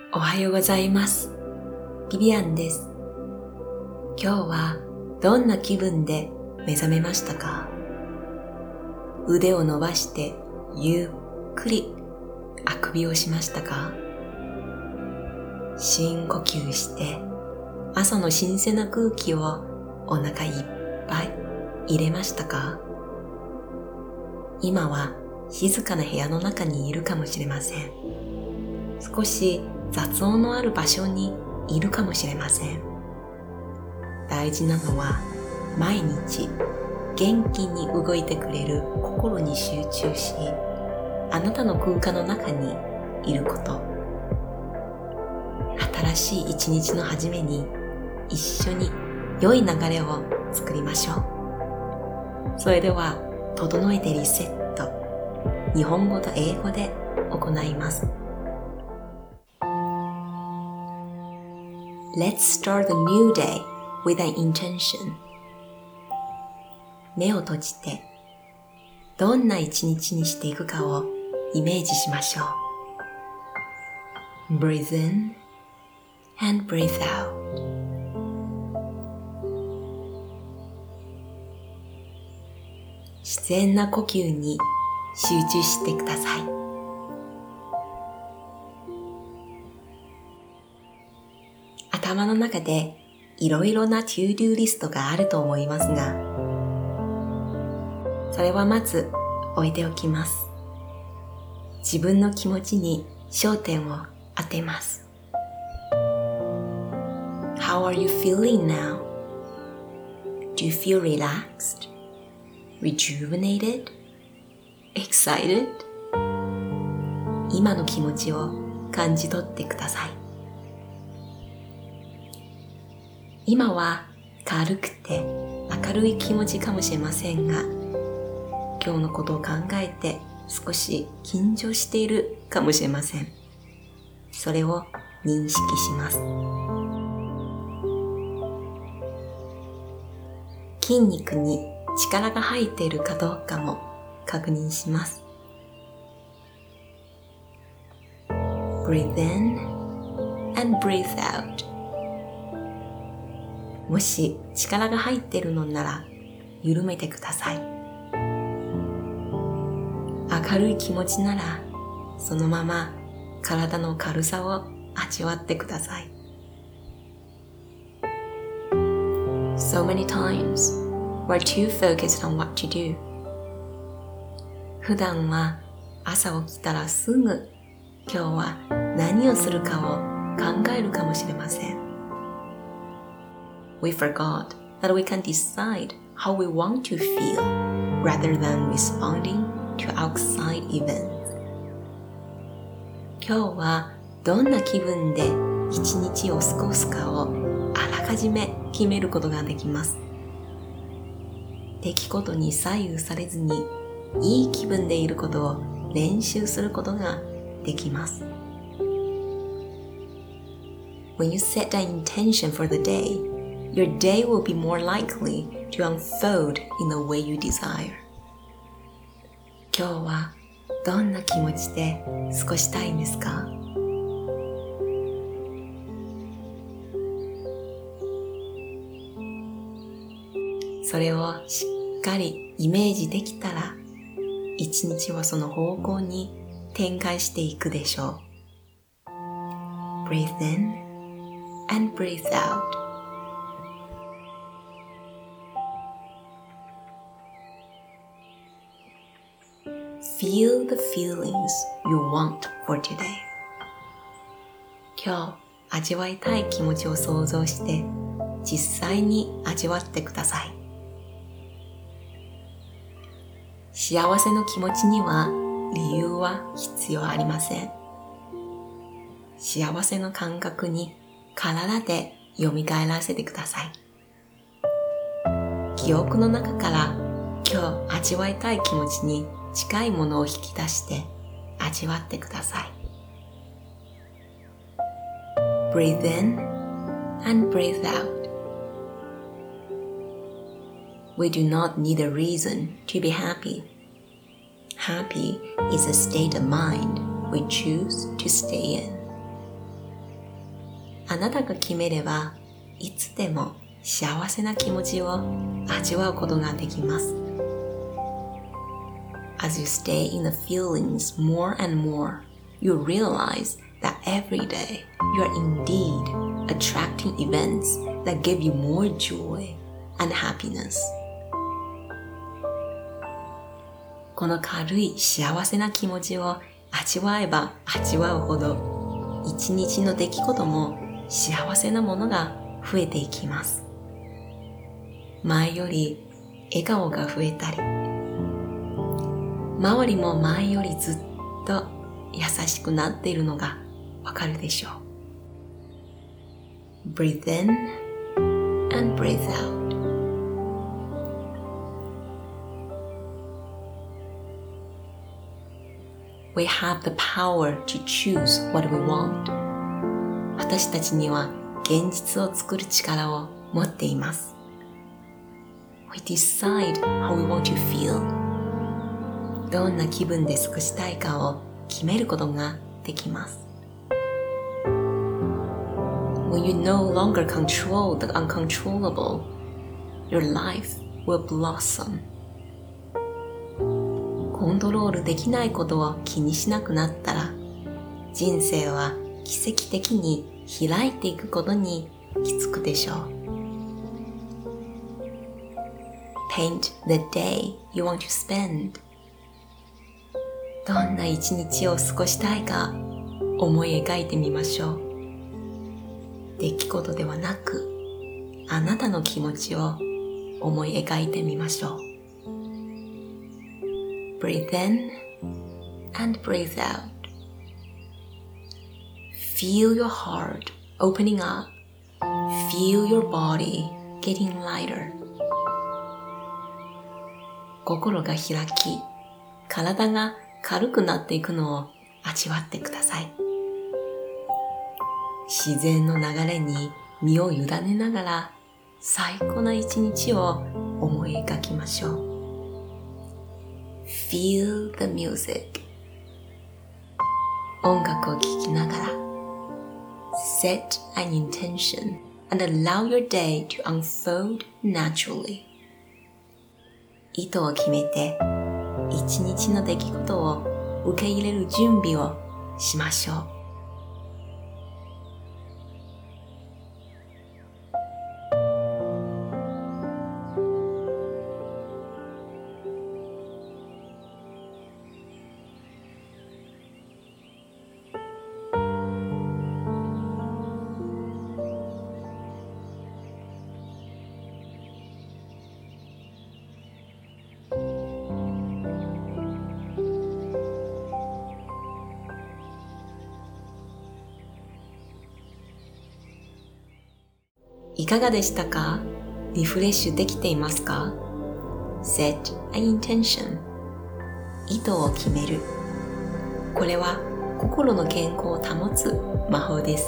おはようございます。ビビアンです。今日はどんな気分で目覚めましたか？腕を伸ばしてゆっくりあくびをしましたか？深呼吸して朝の新鮮な空気をお腹いっぱい入れましたか？今は静かな部屋の中にいるかもしれません。少し雑音のある場所にいるかもしれません。大事なのは毎日元気に動いてくれる心に集中し、あなたの空間の中にいること。新しい一日の始めに一緒に良い流れを作りましょう。それでは整えてリセット、日本語と英語で行います。Let's start the new day with an intention. 目を閉じてどんな一日にしていくかをイメージしましょう。Breathe in and breathe out. 自然な呼吸に集中してください。頭の中でいろいろな to-do リストがあると思いますが、それはまず置いておきます。自分の気持ちに焦点を当てます。How are you feeling now? Do you feel relaxed? Rejuvenated? Excited? 今の気持ちを感じ取ってください。今は軽くて明るい気持ちかもしれませんが、今日のことを考えて少し緊張しているかもしれません。それを認識します。筋肉に力が入っているかどうかも確認します。Breathe in and breathe out. もし力が入っているのなら緩めてください。明るい気持ちならそのまま体の軽さを味わってください。So many times we're too focused on what to do. 普段は朝起きたらすぐ今日は何をするかを考えるかもしれません。We forgot that we can decide how we want to feel rather than responding to outside events. 今日はどんな気分で一日を過ごすかをあらかじめ決めることができます。出来事に左右されずにいい気分でいることを練習することができます。When you set an intention for the day,Your day will be more likely to unfold in the way you desire. 今日はどんな気持ちで過ごしたいんですか？それをしっかりイメージできたら、一日はその方向に展開していくでしょう。Breathe in and breathe out.Feel the feelings you want for today. 今日味わいたい気持ちを想像して実際に味わってください。幸せの気持ちには理由は必要ありません。幸せの感覚に体で蘇らせてください。記憶の中から今日味わいたい気持ちに近いものを引き出して味わってください。Breathe in and breathe out. We do not need a reason to be happy. Happy is a state of mind we choose to stay in. あなたが決めれば、いつでも幸せな気持ちを味わうことができます。As you stay in the feelings more and more, you realize that every day you are indeed attracting events that give you more joy and happiness. この軽い幸せな気持ちを味わえば味わうほど、一日の出来事も幸せなものが増えていきます。前より笑顔が増えたり、周りも前よりずっと優しくなっているのがわかるでしょう。Breathe in and breathe out. We have the power to choose what we want. 私たちには現実を作る力を持っています。We decide how we want to feel. どんな気分で過ごしたいかを決めることができます。When you no longer control the uncontrollable, your life will blossom. コントロールできないことを気にしなくなったら、人生は奇跡的に開いていくことに気づくでしょう。Paint the day you want to spend. どんな一日を過ごしたいか思い描いてみましょう。出来事ではなく、あなたの気持ちを思い描いてみましょう。Breathe in and breathe out. Feel your heart opening up. Feel your body getting lighter. 心が開き、体が軽くなっていくのを味わってください。自然の流れに身を委ねながら最高な一日を思い描きましょう。Feel the music. 音楽を聴きながら Set an intention and allow your day to unfold naturally. 意図を決めて一日の出来事を受け入れる準備をしましょう。いかがでしたか？リフレッシュできていますか？ Set an intention. 意図を決める。これは心の健康を保つ魔法です。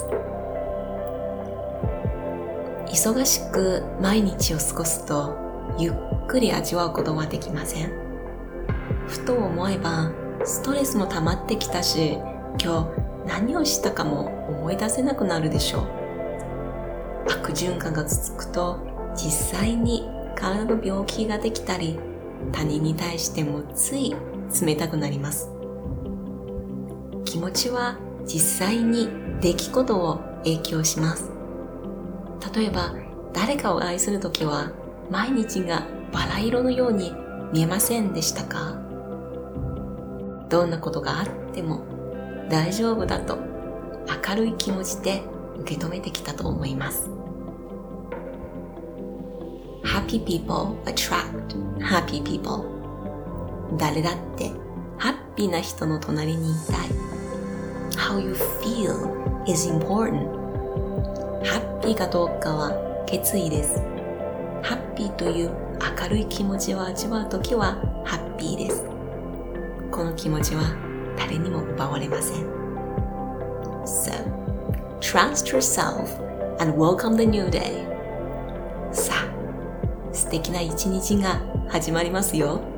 忙しく毎日を過ごすとゆっくり味わうことはできません。ふと思えばストレスも溜まってきたし、今日何をしたかも思い出せなくなるでしょう。悪循環が続くと実際に体の病気ができたり、他人に対してもつい冷たくなります。気持ちは実際に出来事を影響します。例えば誰かを愛するときは毎日がバラ色のように見えませんでしたか？どんなことがあっても大丈夫だと明るい気持ちで受け止めてきたと思います。Happy people attract happy people. 誰だってハッピーな人の隣にいたい。How you feel is important. ハッピーかどうかは決意です。ハッピーという明るい気持ちを味わうときはハッピーです。この気持ちは誰にも奪われません。So, trust yourself and welcome the new day. さあ、素敵な一日が始まりますよ。